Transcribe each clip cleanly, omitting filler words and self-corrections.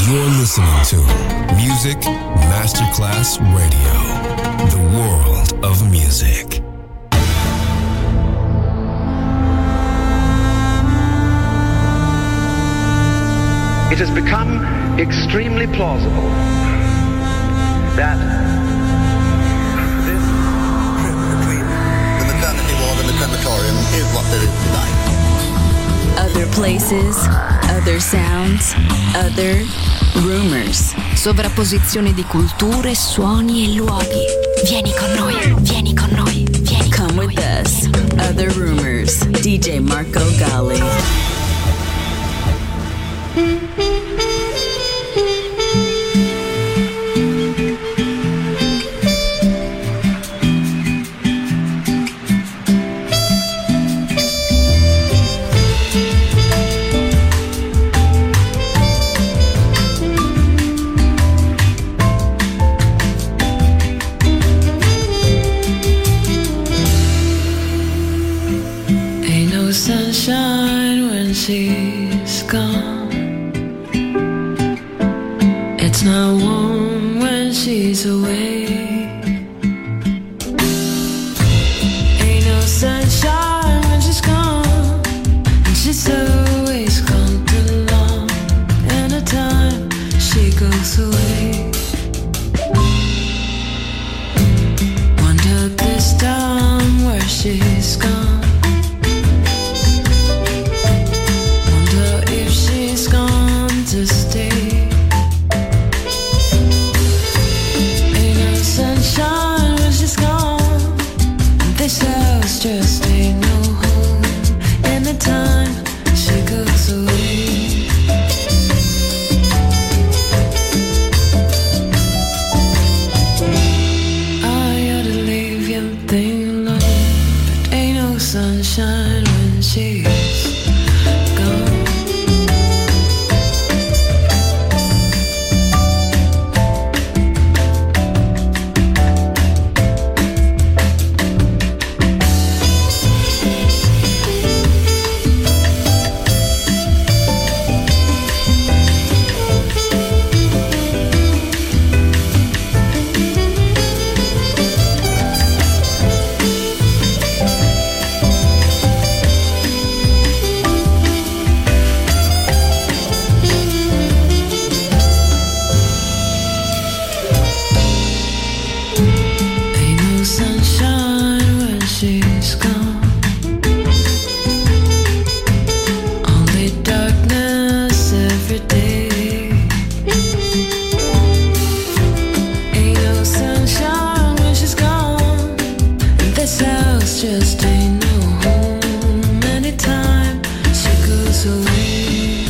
You're listening to Music Masterclass Radio, the world of music. It has become extremely plausible that this trip between the maternity ward and the crematorium is what there is tonight. Other places, other sounds, other rumors. Sovrapposizione di culture, suoni e luoghi. Vieni con noi, vieni con noi, vieni con noi. Come with us. Other Rumors. DJ Marco Gally. Sunshine when she's gone. It's not warm when she's away. Ain't no sunshine when she's gone, and she's always gone too long. Anytime she goes away, wonder this time where she's gone. To stay. Ain't no sunshine when she's gone. This house just ain't no home. Anytime she goes away. I ought to leave your thing alone, but ain't no sunshine when she's gone. Just ain't no home anytime she goes away.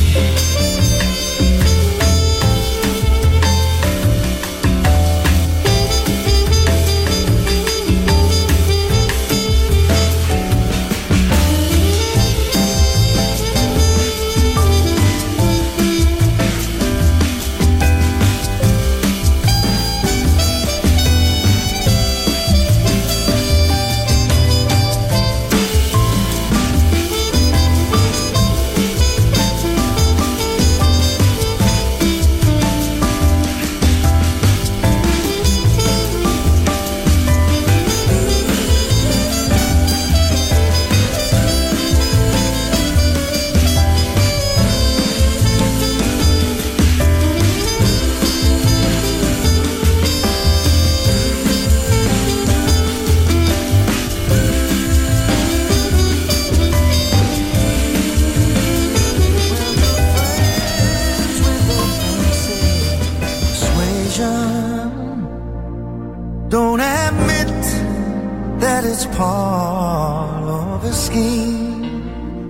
Don't admit that it's part of a scheme,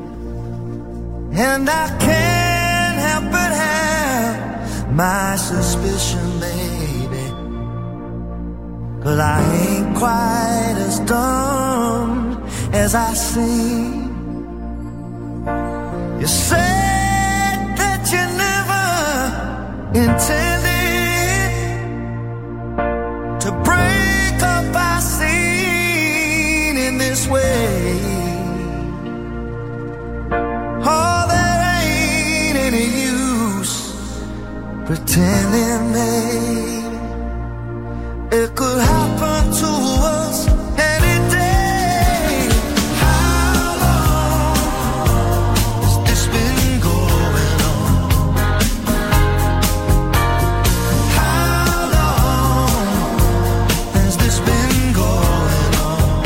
and I can't help but have my suspicion, baby, 'cause I ain't quite as dumb as I seem. You said that you never intended to break up our scene in this way. Oh, there ain't any use pretending, babe, it could happen to us any day. How long has this been going on? How long has this been going on?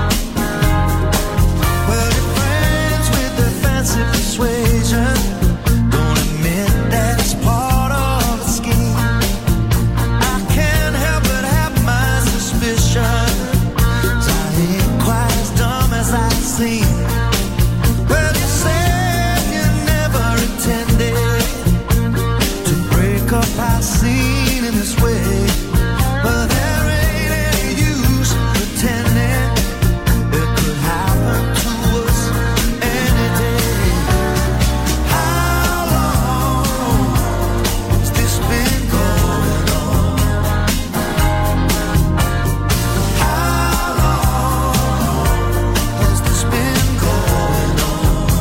Well, your friends with their fancy persuasion don't admit that it's part of a scheme. I can't help but have my suspicions. I ain't quite as dumb as I seem. Well, you said you never intended to break up our scene in this way, but there ain't any use pretending it could happen to us any day. How long has this been going on? How long has this been going on?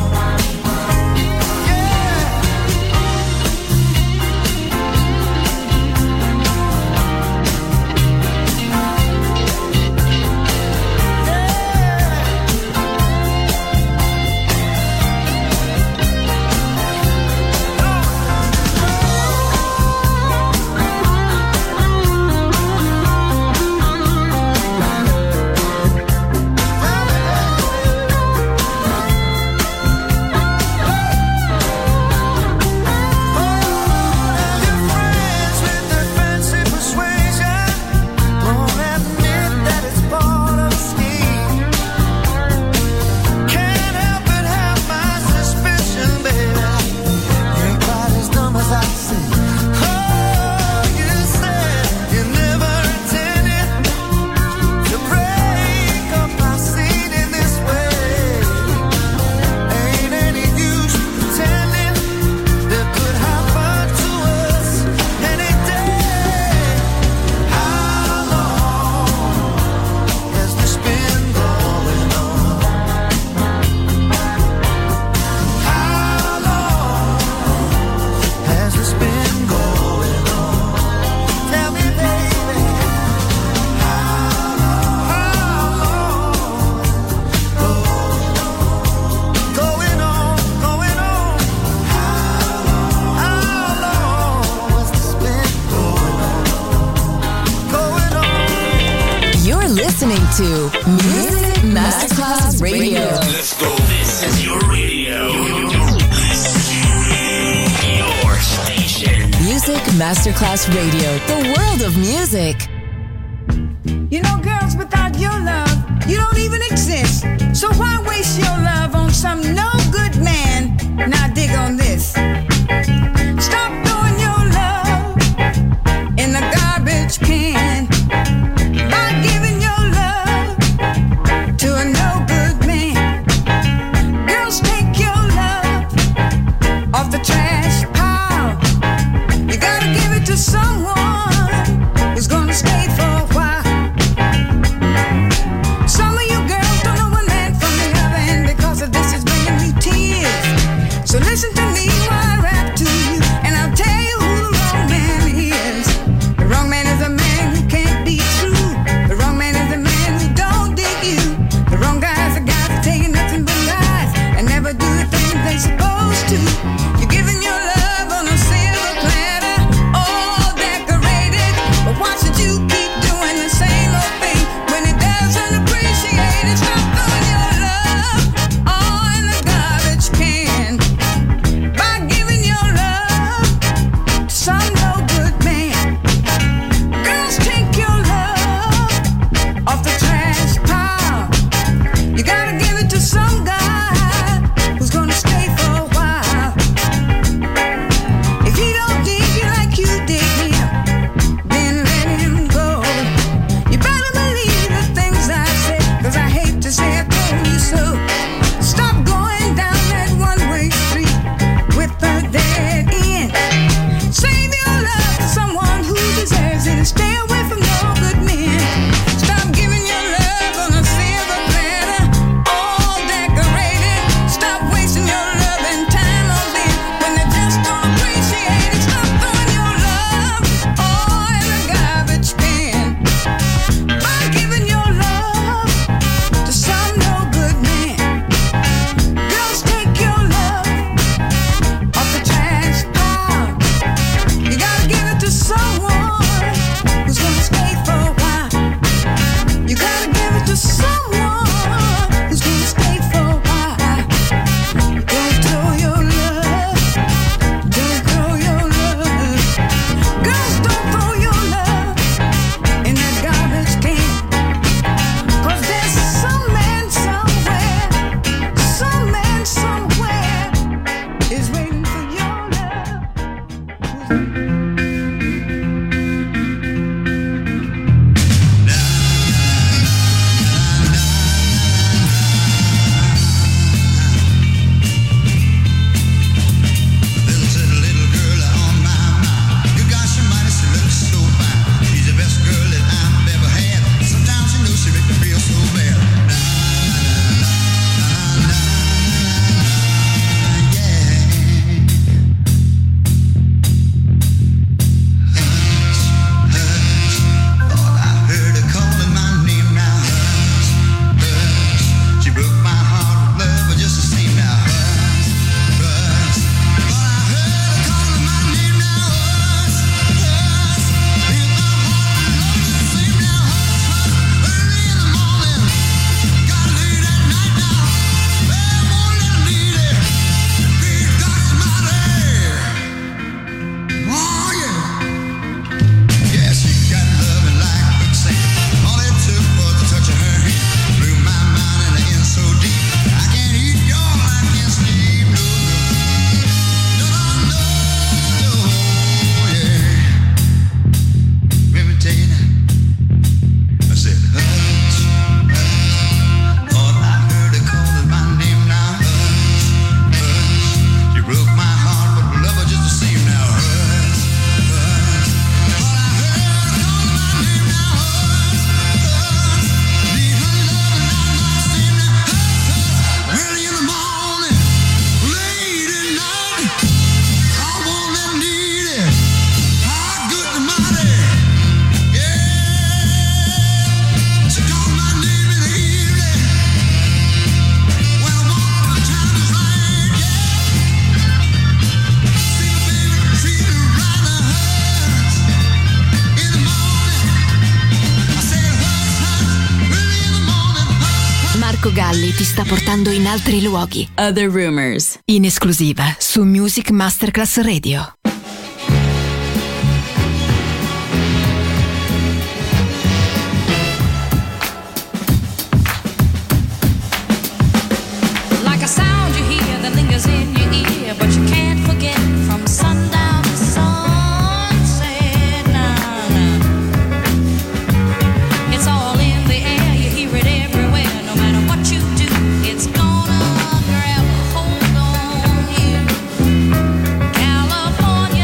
Your friends with their fancy persuasion won't admit that it's part of a scheme. Can't help but have my suspicion, baby. You ain't quite as dumb as I seem. Oh, you said you never intended to break up our scene in this way. Ain't any use pretending that could happen to us any day. How long has this been going on? How long has this been going on? Tell me, baby. How long going on? How long has this been going on? You're listening to Music Masterclass Radio. Let's go. This is your radio. Your station. Music Masterclass Radio, the world of music. You know, girls, without your love, you don't even exist. So why waste your love on some no good man? Now dig on this. Stop throwing your love in the garbage can by giving your love to a no good man. Girls, take your love off the trash pile. You gotta give it to someone who's gonna stay for a while. Some of you girls don't know one man from the other, and because of this, it's bringing you tears. So listen to me. Galli ti sta portando in altri luoghi. Other Rumors, in esclusiva su Music Masterclass Radio. Like a sound you hear that lingers in your ear, but you can't forget from sundown to sunset. Nah, nah. It's all in the air, you hear it everywhere. No matter what you do, it's gonna grab a hold on you. California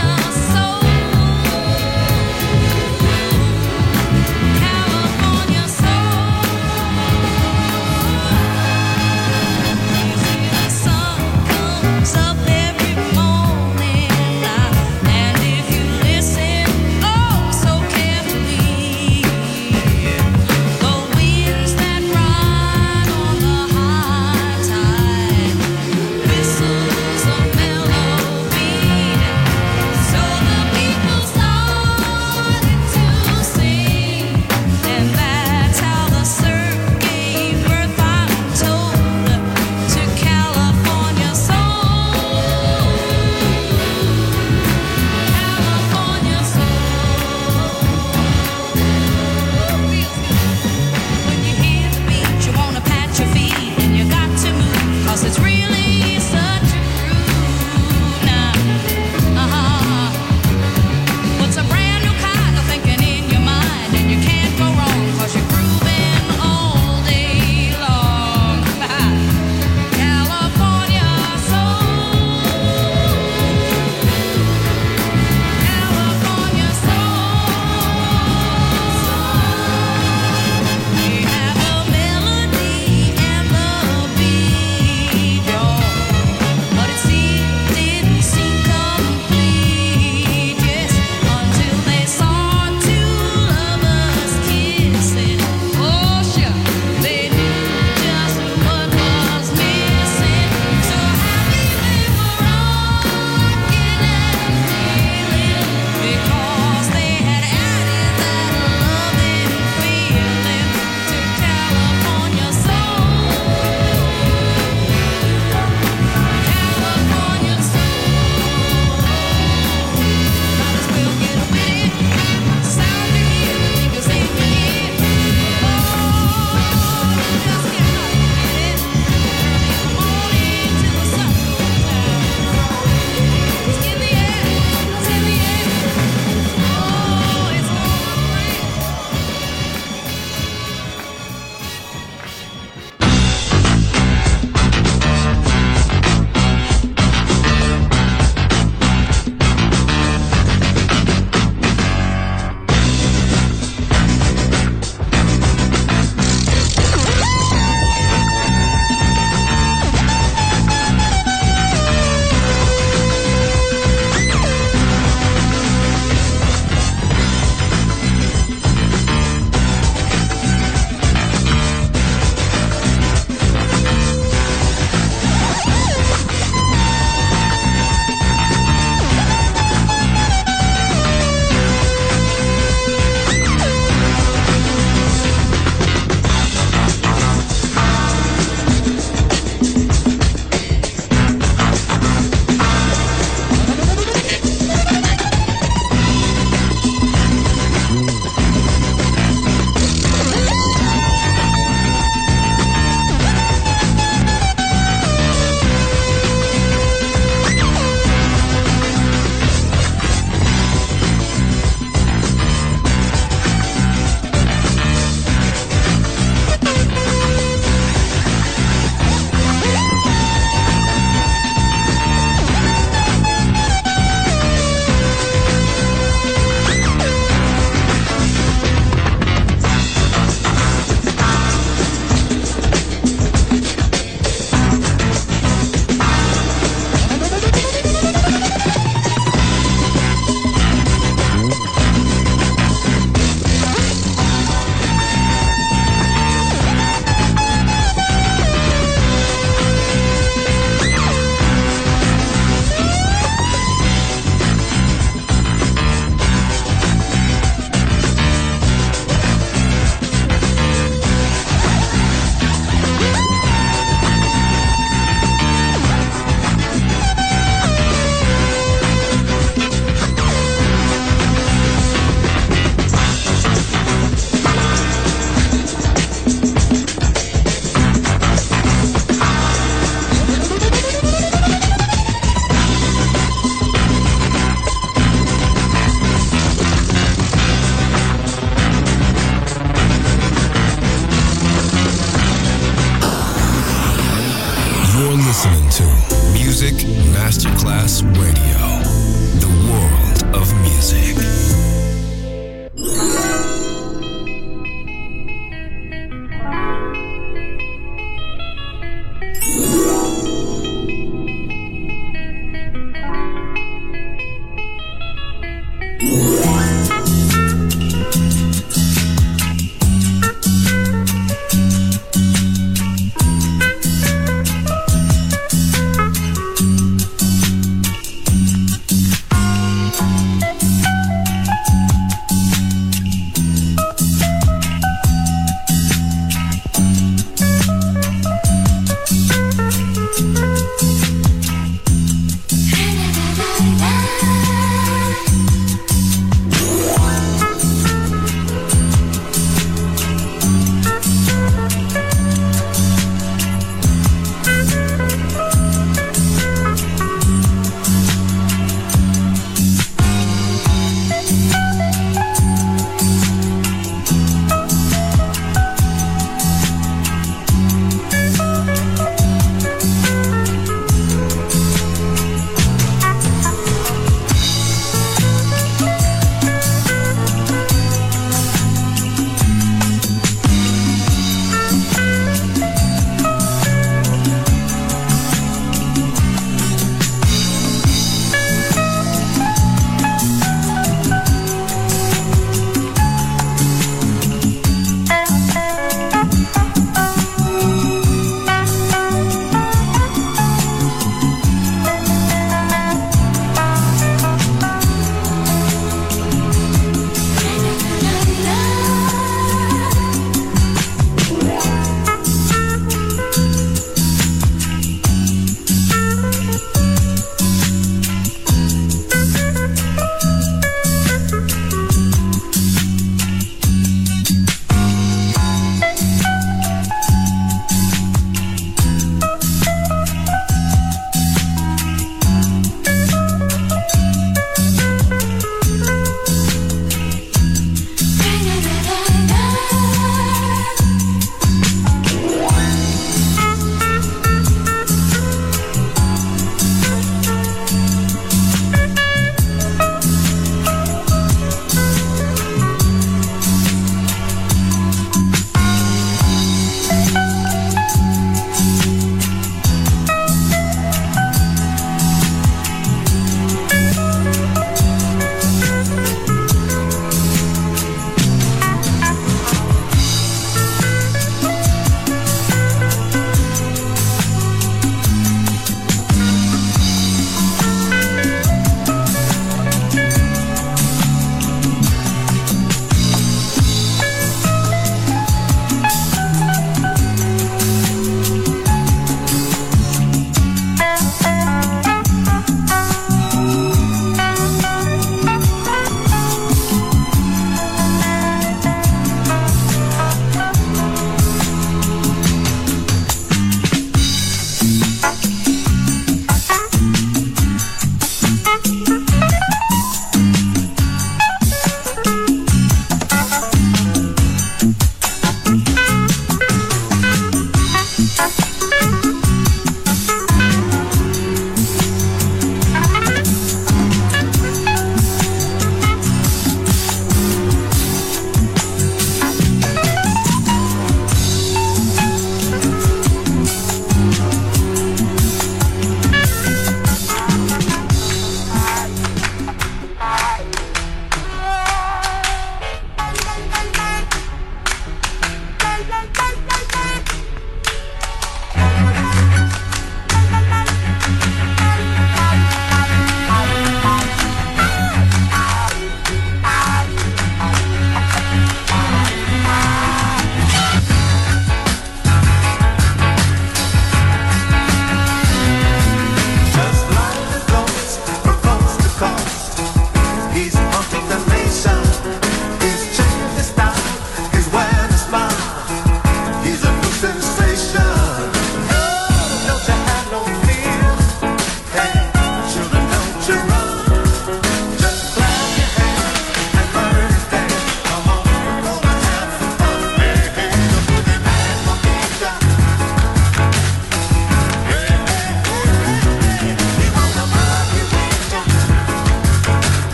Masterclass Radio, the world of music.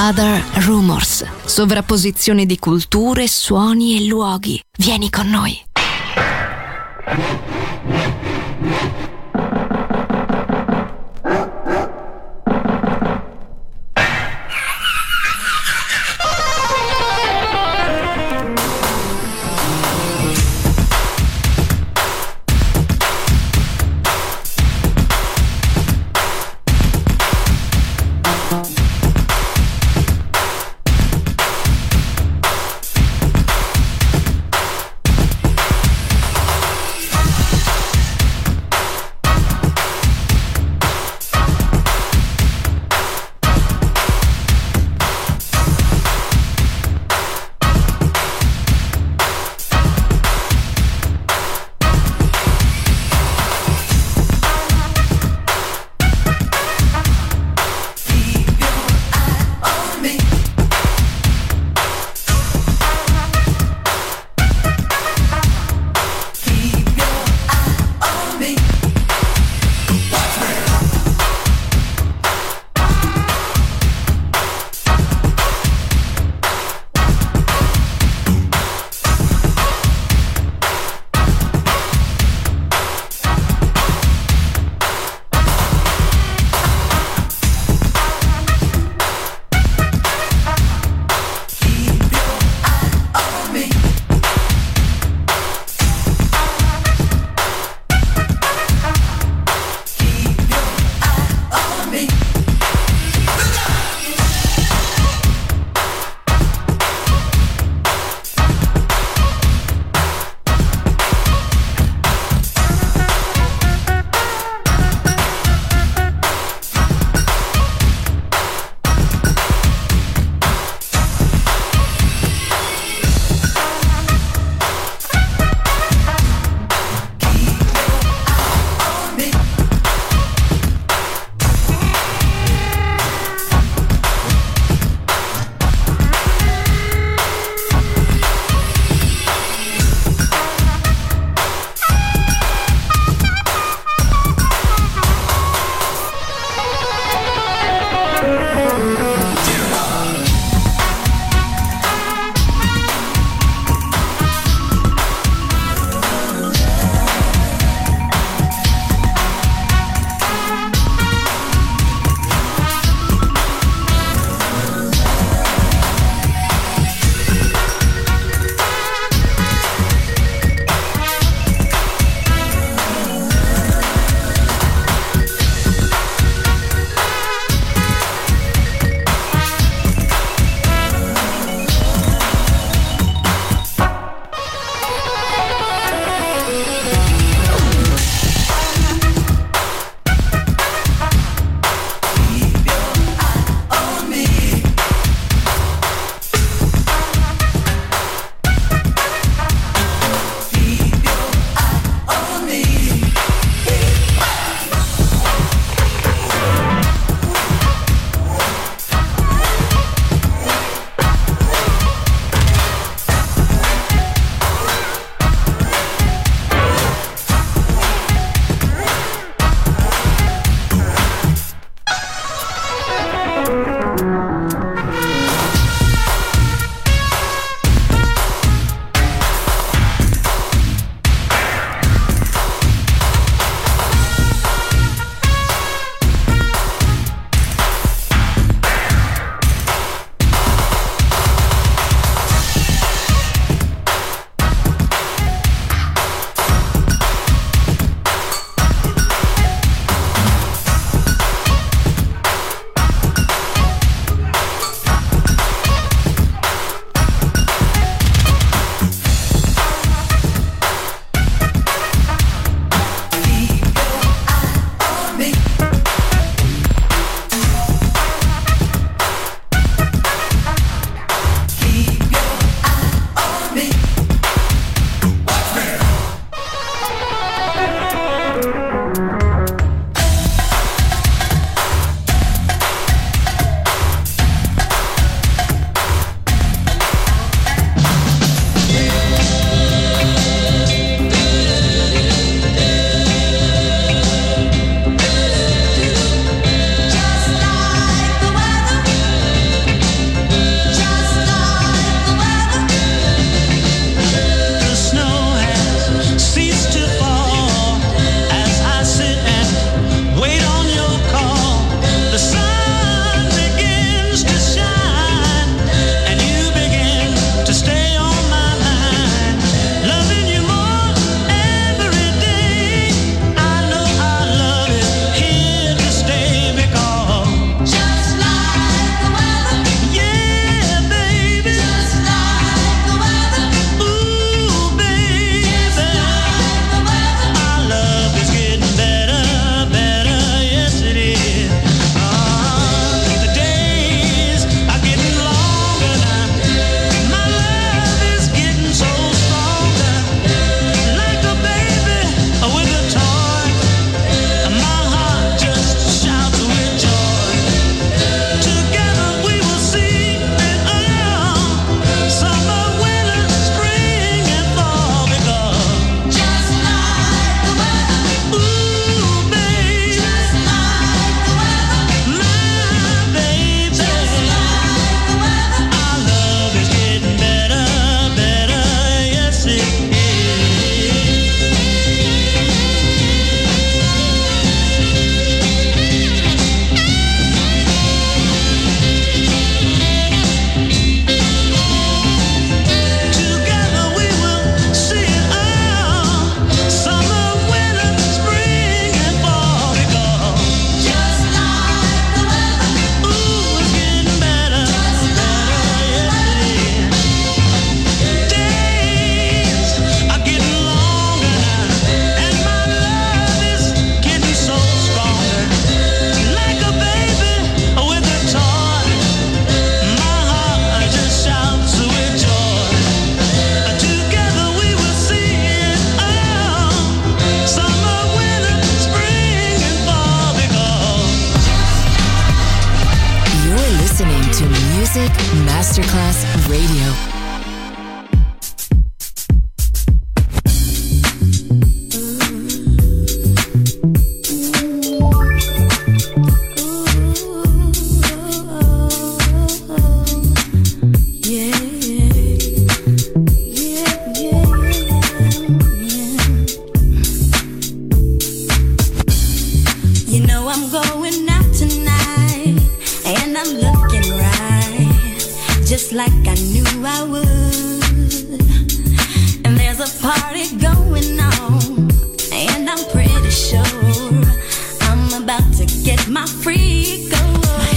Other Rumors, sovrapposizione di culture, suoni e luoghi. Vieni con noi. I would. And there's a party going on, and I'm pretty sure I'm about to get my freak on.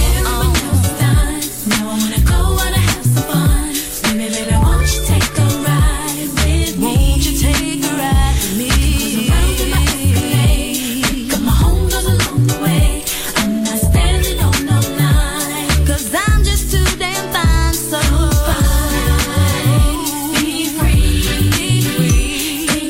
Now I wanna go, wanna have some fun. Baby, baby, won't you take a ride with me? Won't you take a ride with me? 'Cause I'm riding my Escalade. Got my home goes along the way. I'm not standing on no line. 'Cause I'm just too damn fine, so fine. Be free, be free.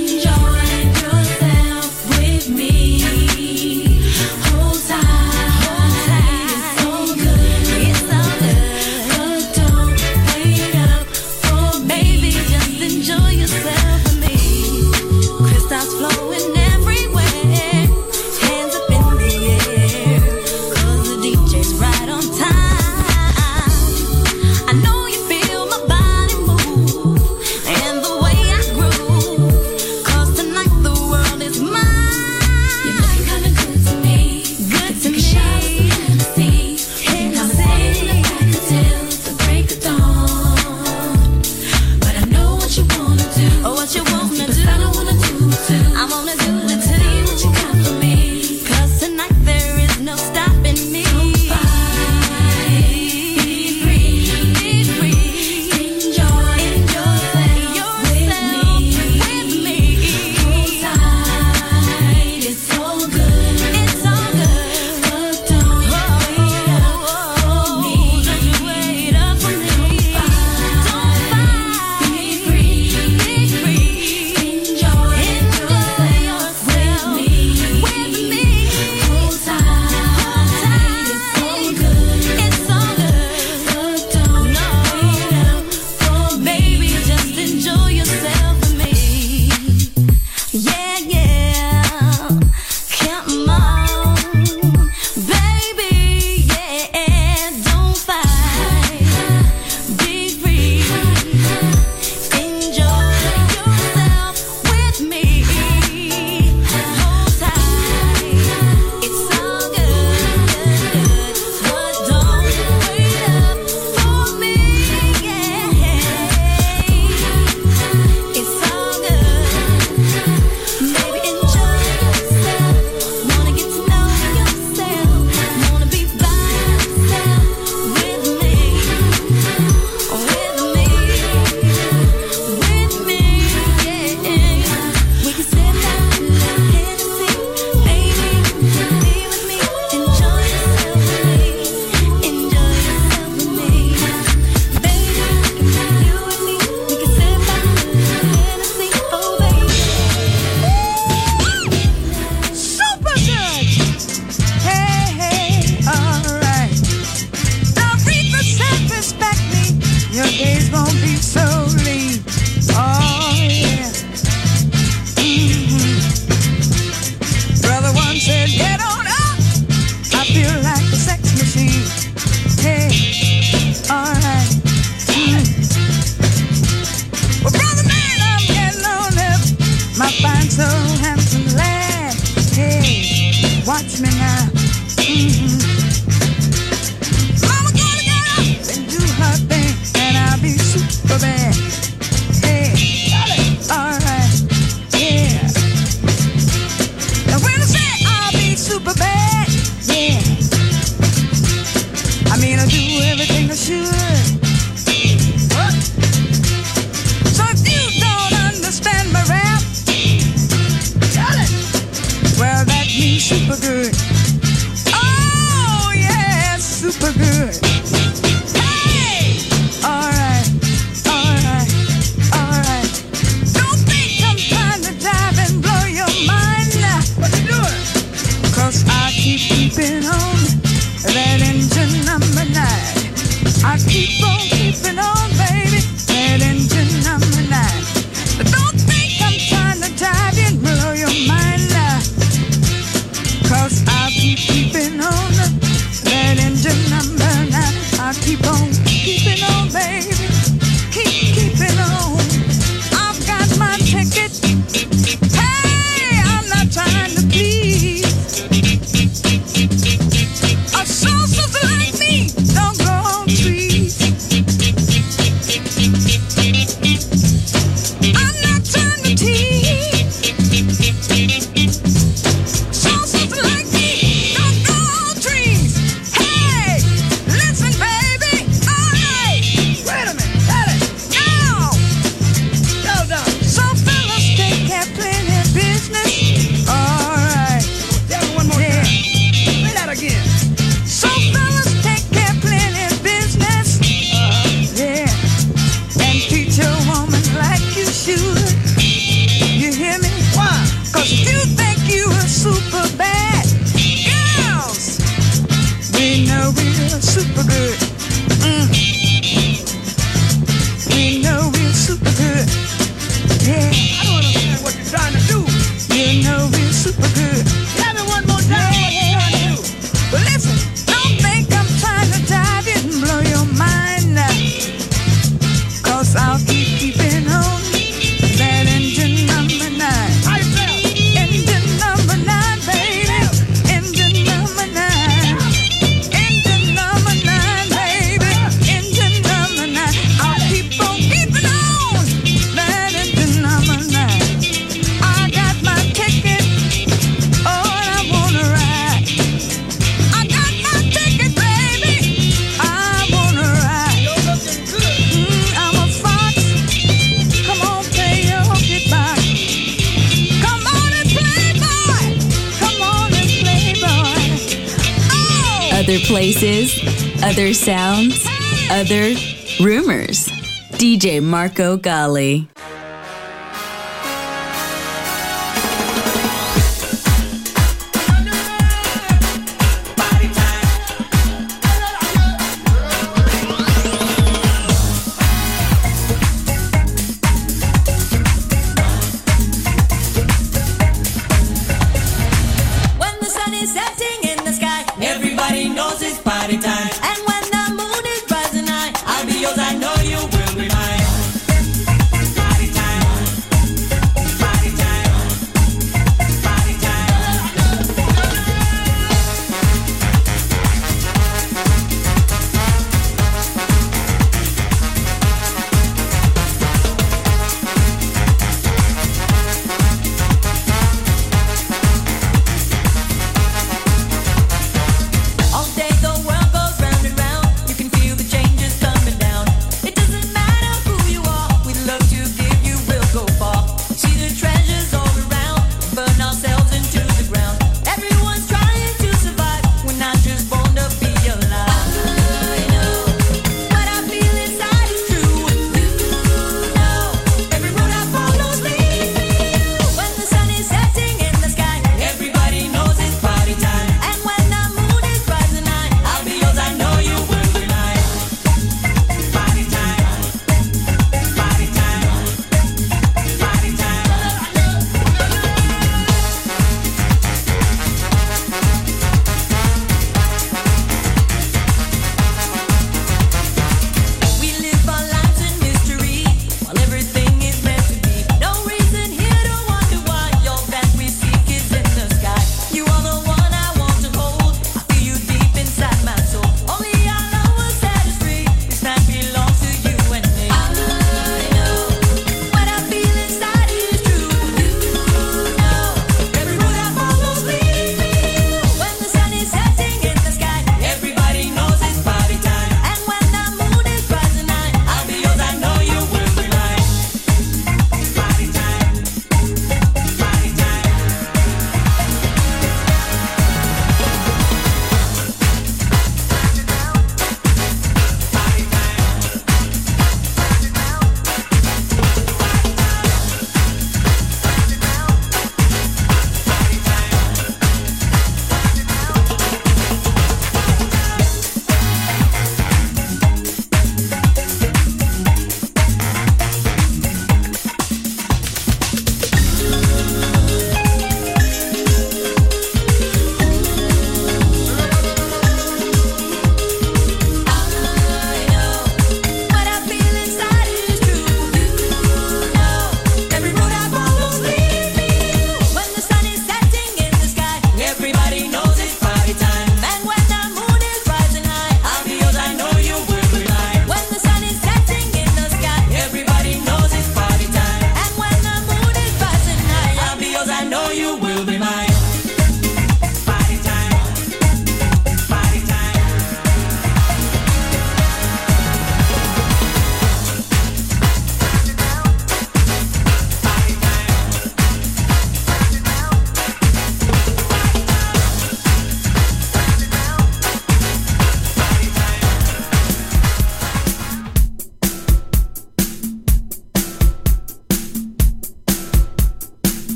Other places, other sounds, other rumors. DJ Marco Gally. I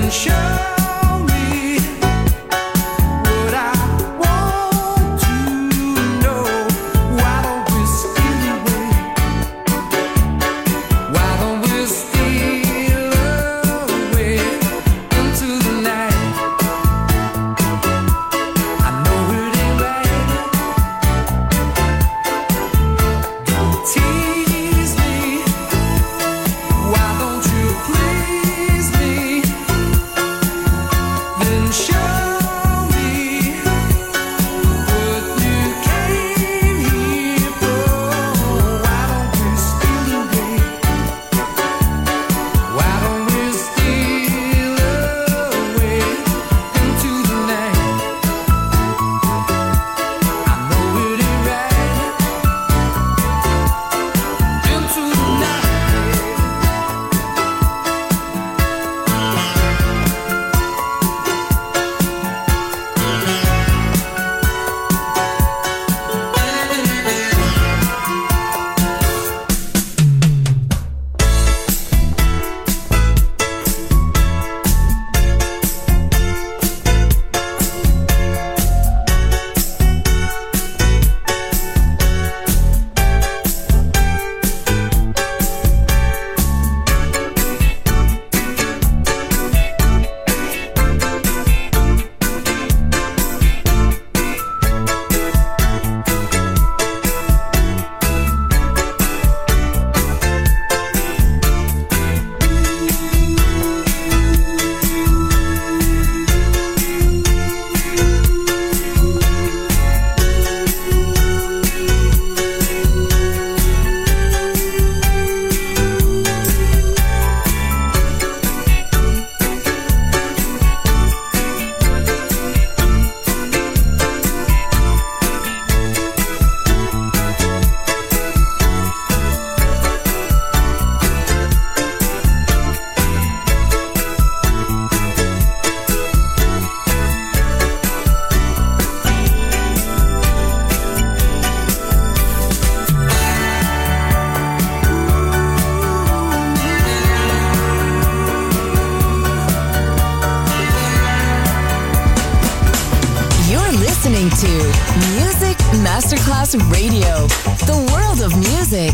to Music Masterclass Radio, the world of music.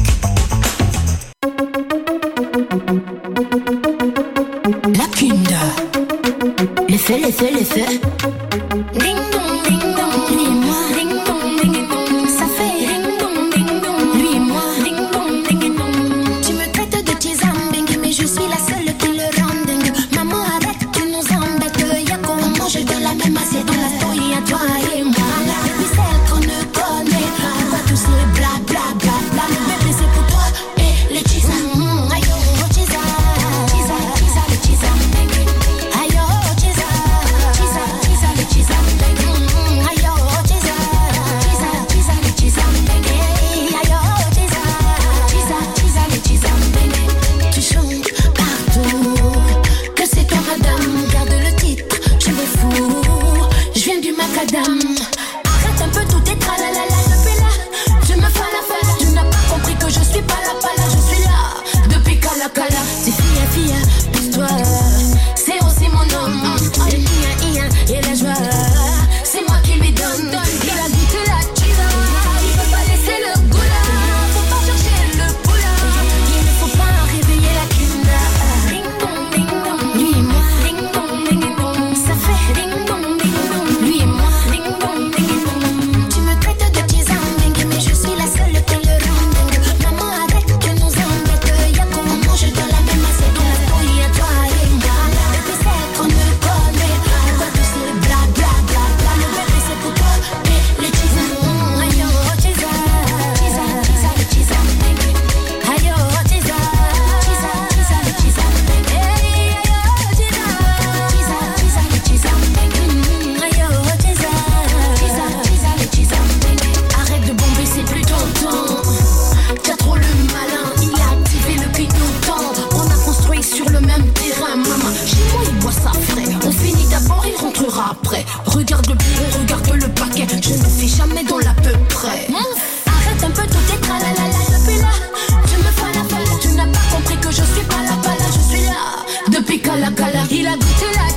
La Kunda. L'effet. Ding dong, ding dong, lui et moi. Ding dong, ding dong, ça fait ding dong, ding dong, lui et moi. Ding dong, ding dong. Tu me traites de tizambing, mais je suis la seule qui le rend dingue. Maman, arrête, tu nous embêtes. Y'a qu'on mange de la même assiette dans la story à toi et moi. Depuis celle qu'on ne connaît pas, on va tous les bla bla bla bla. Bébé, c'est pour toi et les tizam. Aïe, oh, tizam, tizam, tizam, le tizam. Aïe, oh, tizam, tizam, tizam, le tizam. Aïe, oh, tizam, tizam, tizam, le tizam. Aïe, oh, tizam, tizam, tizam, le tizam. Tu chantes partout que c'est toi, madame. Garde le titre, je me fous. Je viens du macadam. Arrête un peu tout tes tralalala depuis là. Tu me fais la fala. Tu n'as pas compris que je suis pas là. Je suis là depuis Kala. C'est fille, pousse-toi. C'est aussi mon homme. Et la joie, c'est moi qui lui donne. Il a goûté la chiza. Il peut pas laisser le goût là. Faut pas chercher le poula. Il ne faut pas réveiller la kunda. Ding dong, ding dong. Lui et moi. Ding dong, ding dong. Ça fait ding dong, ding dong. Lui et moi. Ding dong, ding dong. Tu me traites de tizambing, mais je suis la seule qui le rend dingue. Maman, arrête, tu nous embêtes. Y'a qu'on mange dans la même assiette. Dans la story à toi et moi. Depuis celle qu'on ne connaît pas, on va tous les bla bla bla bla. Le bébé c'est pour toi et les tizam. Aïe oh tizam, tizam, tizam, le tizam. Aïe oh tizam, tizam, tizam, le tizam. Aïe oh tizam, tizam, tizam, le tizam. Aïe oh tizam, tizam, tizam, le tizam. Arrête de bomber, c'est plus ton temps. T'as trop le malin, il a activé le clignotant. On a construit sur le même terrain, maman. Chez moi, il boit ça frais. On finit d'abord, il rentrera après. Regarde le bureau, regarde le paquet. Je ne fais jamais dans l'à peu près. Arrête un peu tout tes tralalala depuis là. Tu me fais la fala. Tu n'as pas compris que je suis pas là. Je suis là depuis Kala. Il a goûté la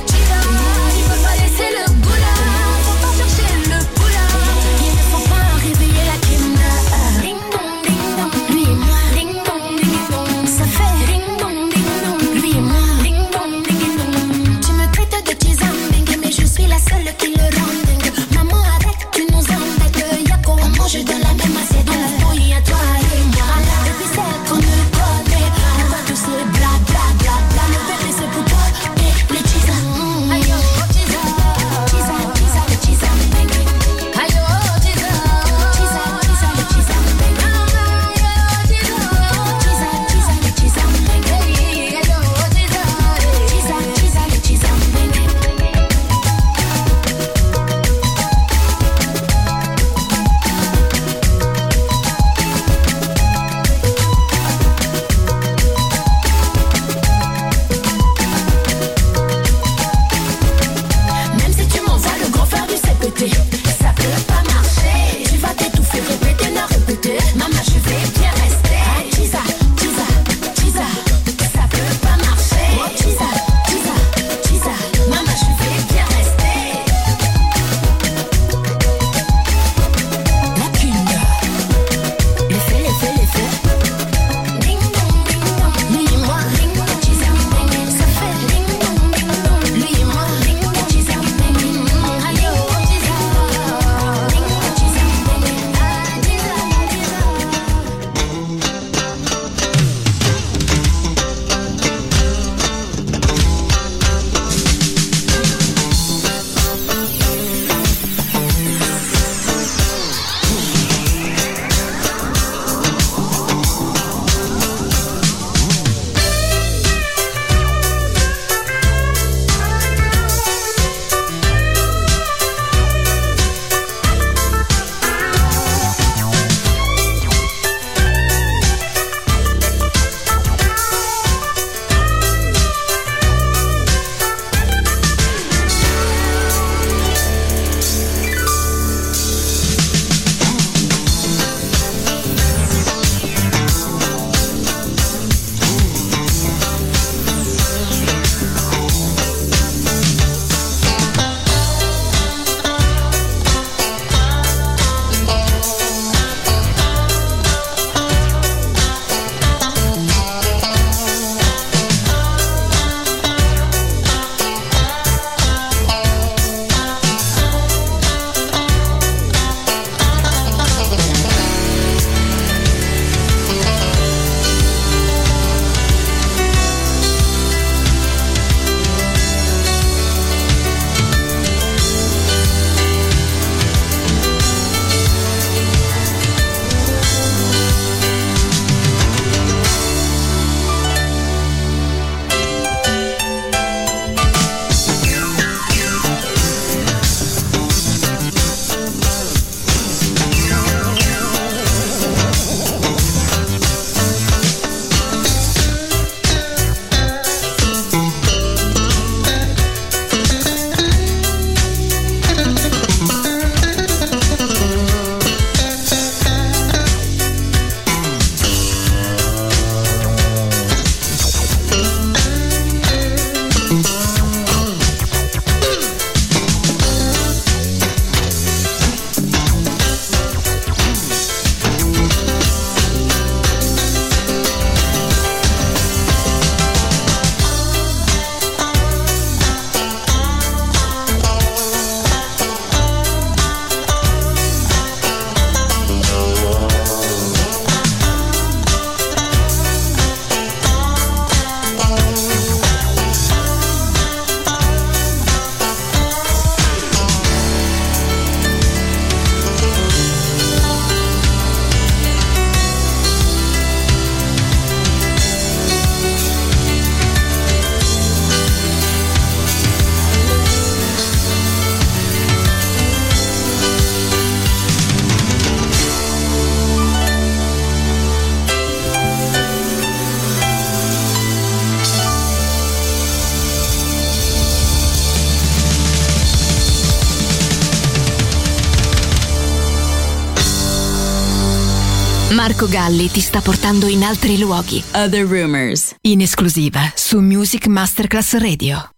Marco Galli ti sta portando in altri luoghi. Other Rumors, in esclusiva su Music Masterclass Radio.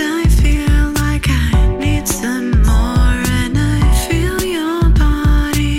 Feel your body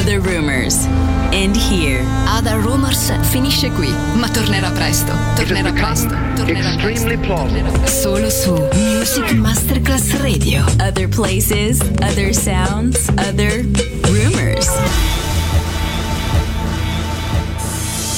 Other Rumors. And here. Other Rumors finisce qui, ma tornerà presto. Tornerà presto. Extremely plausible. Solo su Music Masterclass Radio. Other places, other sounds, other rumors.